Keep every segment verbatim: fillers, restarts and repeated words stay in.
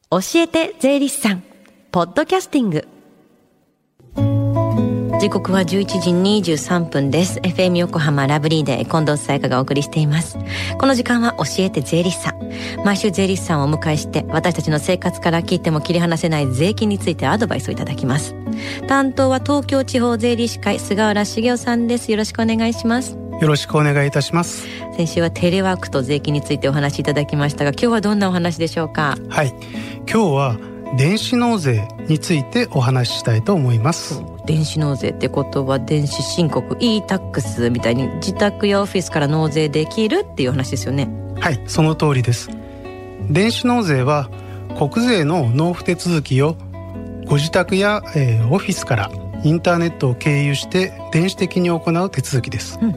教えて税理士さんポッドキャスティング。時刻はじゅういちじにじゅうさんぷんです。 エフエム 横浜ラブリーで近藤沙耶香がお送りしています。この時間は教えて税理士さん。毎週税理士さんをお迎えして、私たちの生活から切っても切り離せない税金についてアドバイスをいただきます。担当は東京地方税理士会菅原茂雄さんです。よろしくお願いします。 よろしくお願いいたします。 先週はテレワークと税金についてお話しいただきましたが、今日はどんなお話でしょうか？ はい、今日は電子納税についてお話ししたいと思います。 電子納税ってことは電子申告 e タックスみたいに自宅やオフィスから納税できるっていう話ですよね。 はい、その通りです。電子納税は国税の納付手続きをご自宅や、えー、オフィスからインターネットを経由して電子的に行う手続きです、うん、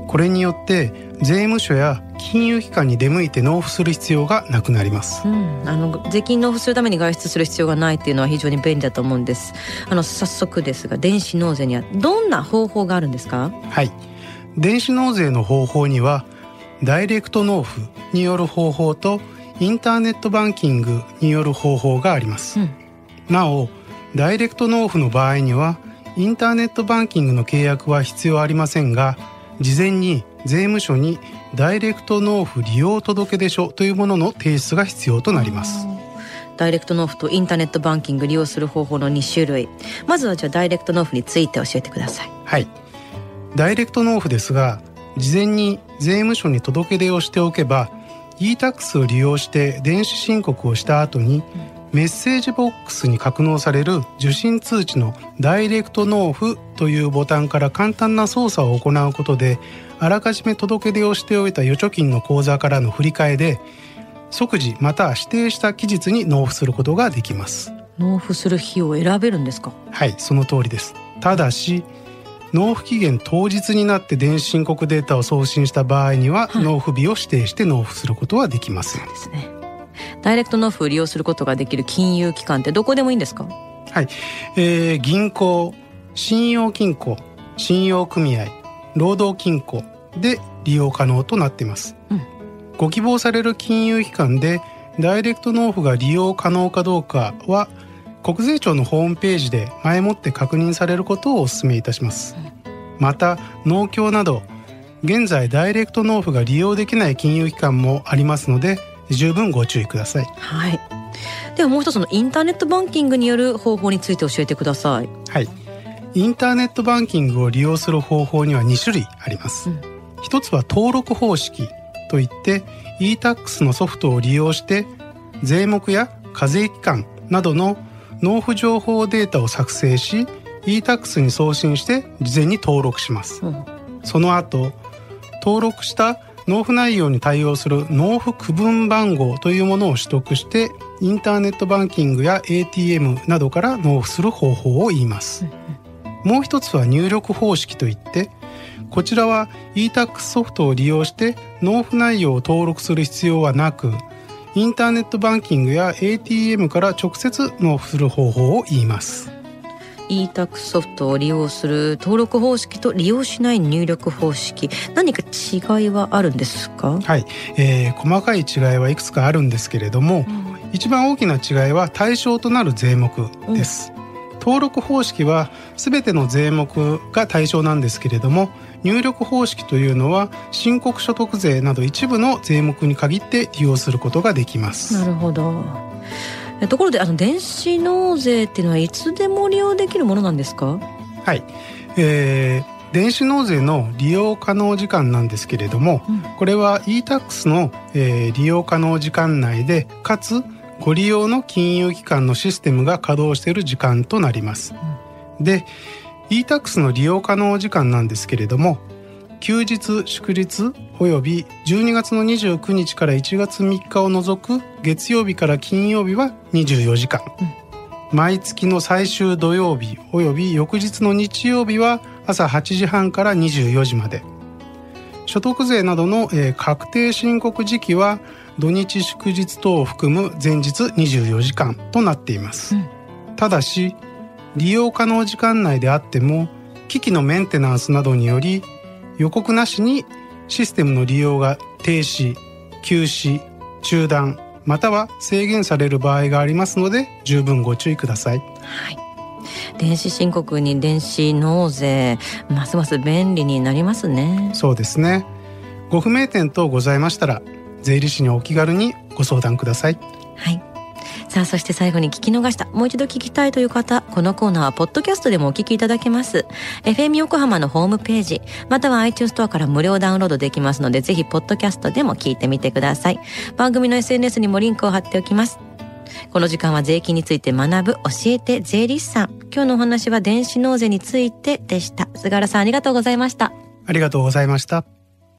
これによって税務署や金融機関に出向いて納付する必要がなくなります、 うん、あの税金納付するために外出する必要がないっていうのは非常に便利だと思うんです。あの早速ですが、電子納税にはどんな方法があるんですか？ はい、電子納税の方法にはダイレクト納付による方法とインターネットバンキングによる方法があります、うん、なおダイレクト納付の場合にはインターネットバンキングの契約は必要ありませんが、事前に税務署にダイレクト納付利用届出書というものの提出が必要となります。 ダイレクト納付とインターネットバンキング利用する方法のに種類、まずはじゃあダイレクト納付について教えてください。 はい、ダイレクト納付ですが、事前に税務署に届け出をしておけば e タックスを利用して電子申告をした後に、うん、メッセージボックスに格納される受信通知のダイレクト納付というボタンから簡単な操作を行うことで、あらかじめ届け出をしておいた預貯金の口座からの振り替えで即時または指定した期日に納付することができます。 納付する日を選べるんですか？ はい、その通りです。ただし納付期限当日になって電子申告データを送信した場合には、はい、納付日を指定して納付することはできません。 そうですね。ダイレクト納付を利用することができる金融機関ってどこでもいいんですか？ はい、えー、銀行、信用金庫、信用組合、労働金庫で利用可能となっています、うん、ご希望される金融機関でダイレクト納付が利用可能かどうかは国税庁のホームページで前もって確認されることをお勧めいたします、うん、また農協など現在ダイレクト納付が利用できない金融機関もありますので十分ご注意ください。 はい、ではもう一つのインターネットバンキングによる方法について教えてください。 はい、インターネットバンキングを利用する方法にはに種類あります、うん、一つは登録方式といって e タックスのソフトを利用して税目や課税期間などの納付情報データを作成し e タックスに送信して事前に登録します、うん、その後登録した納付内容に対応する納付区分番号というものを取得してインターネットバンキングや エーティーエム などから納付する方法を言います、うん、もう一つは入力方式といってこちらは e タックスソフトを利用して納付内容を登録する必要はなくインターネットバンキングや エーティーエム から直接納付する方法を言います。 e タックスソフトを利用する登録方式と利用しない入力方式、何か違いはあるんですか？ はい、えー、細かい違いはいくつかあるんですけれども、うん、一番大きな違いは対象となる税目です、うん、登録方式は全ての税目が対象なんですけれども、入力方式というのは申告所得税など一部の税目に限って利用することができます。 なるほど。ところであの電子納税っていうのはいつでも利用できるものなんですか？ はい、えー、電子納税の利用可能時間なんですけれども、うん、これは e タックスの、えー、利用可能時間内でかつご利用の金融機関のシステムが稼働している時間となります、うん、で e タックスの利用可能時間なんですけれども、休日祝日およびじゅうにがつのにじゅうくにちからいちがつみっかを除く月曜日から金曜日はにじゅうよじかん、うん、毎月の最終土曜日および翌日の日曜日は朝はちじはんからにじゅうよじまで、所得税などの、えー、確定申告時期は土日祝日等を含む前日にじゅうよじかんとなっています、うん、ただし利用可能時間内であっても機器のメンテナンスなどにより予告なしにシステムの利用が停止、休止、中断、 または制限される場合がありますので十分ご注意ください。 はい、電子申告に電子納税、ますます便利になりますね。 そうですね。ご不明点等ございましたら税理士にお気軽にご相談ください。 はい。さあ、そして最後に聞き逃した、もう一度聞きたいという方、このコーナーはポッドキャストでもお聞きいただけます。 エフエム 横浜のホームページまたは iTunes ストアから無料ダウンロードできますので、ぜひポッドキャストでも聞いてみてください。番組の エスエヌエス にもリンクを貼っておきます。この時間は税金について学ぶ教えて税理士さん。今日のお話は電子納税についてでした。菅原さん、ありがとうございました。 ありがとうございました。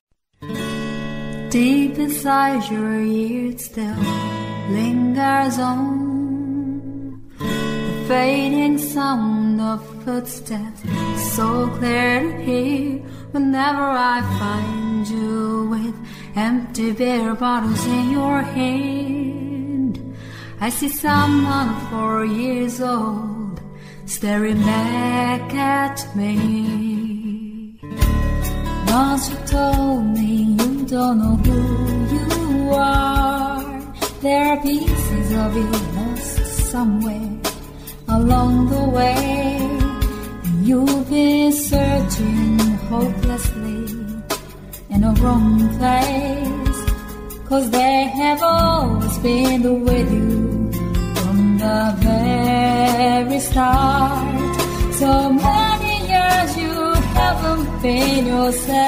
Deep inside your ears still lingers on the fading sound of footsteps, so clear to hear whenever I find you with empty beer bottles in your hand. I see someone four years old staring back at me. Once you told me you don't know who you are. There are pieces of you lost somewhere along the way. You've been searching hopelessly in a wrong place, 'cause they have always been with you from the very start. So many years you haven't been yourself.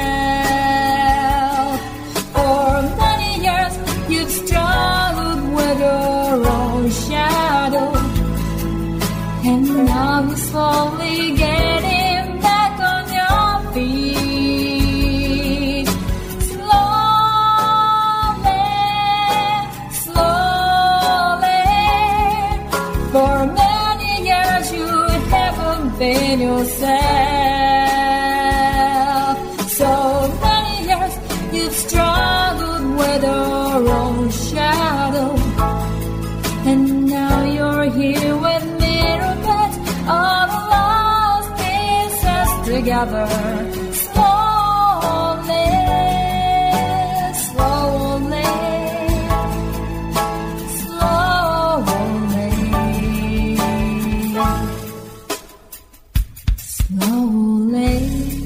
For many years you've struggled with your own shadow, and now you're slowly getting back on your feet. Slowly, slowly. For many years you haven't been yourself. So many years you've struggled with your own shadow, and now you're here with me to put all the lost pieces together. Slowly, slowly, slowly, slowly.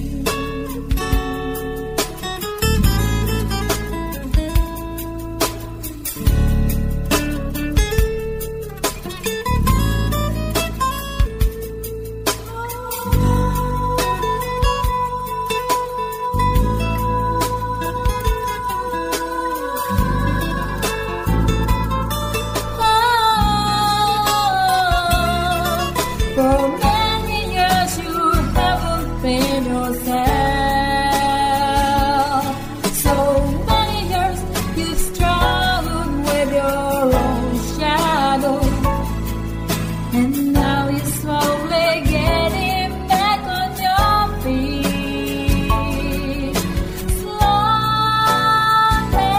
For many years you haven't been yourself. So many years you've struggled with your own shadow, and now you're slowly getting back on your feet. Slowly,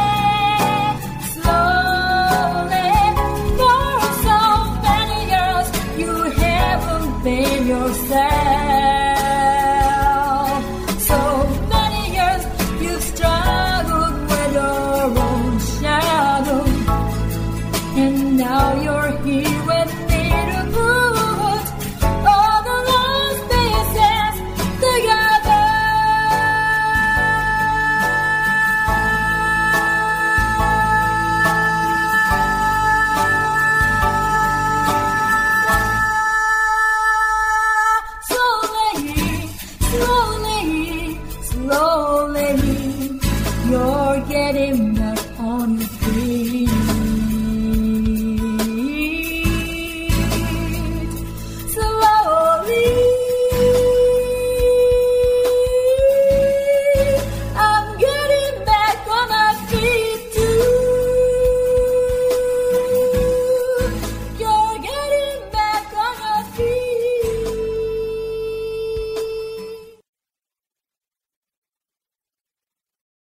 slowly. For so many years you haven't been yourself. So many years you've struggled with your own shadow, and now you're here with me to put all the lost pieces together. Slowly, slowly, slowly, you're getting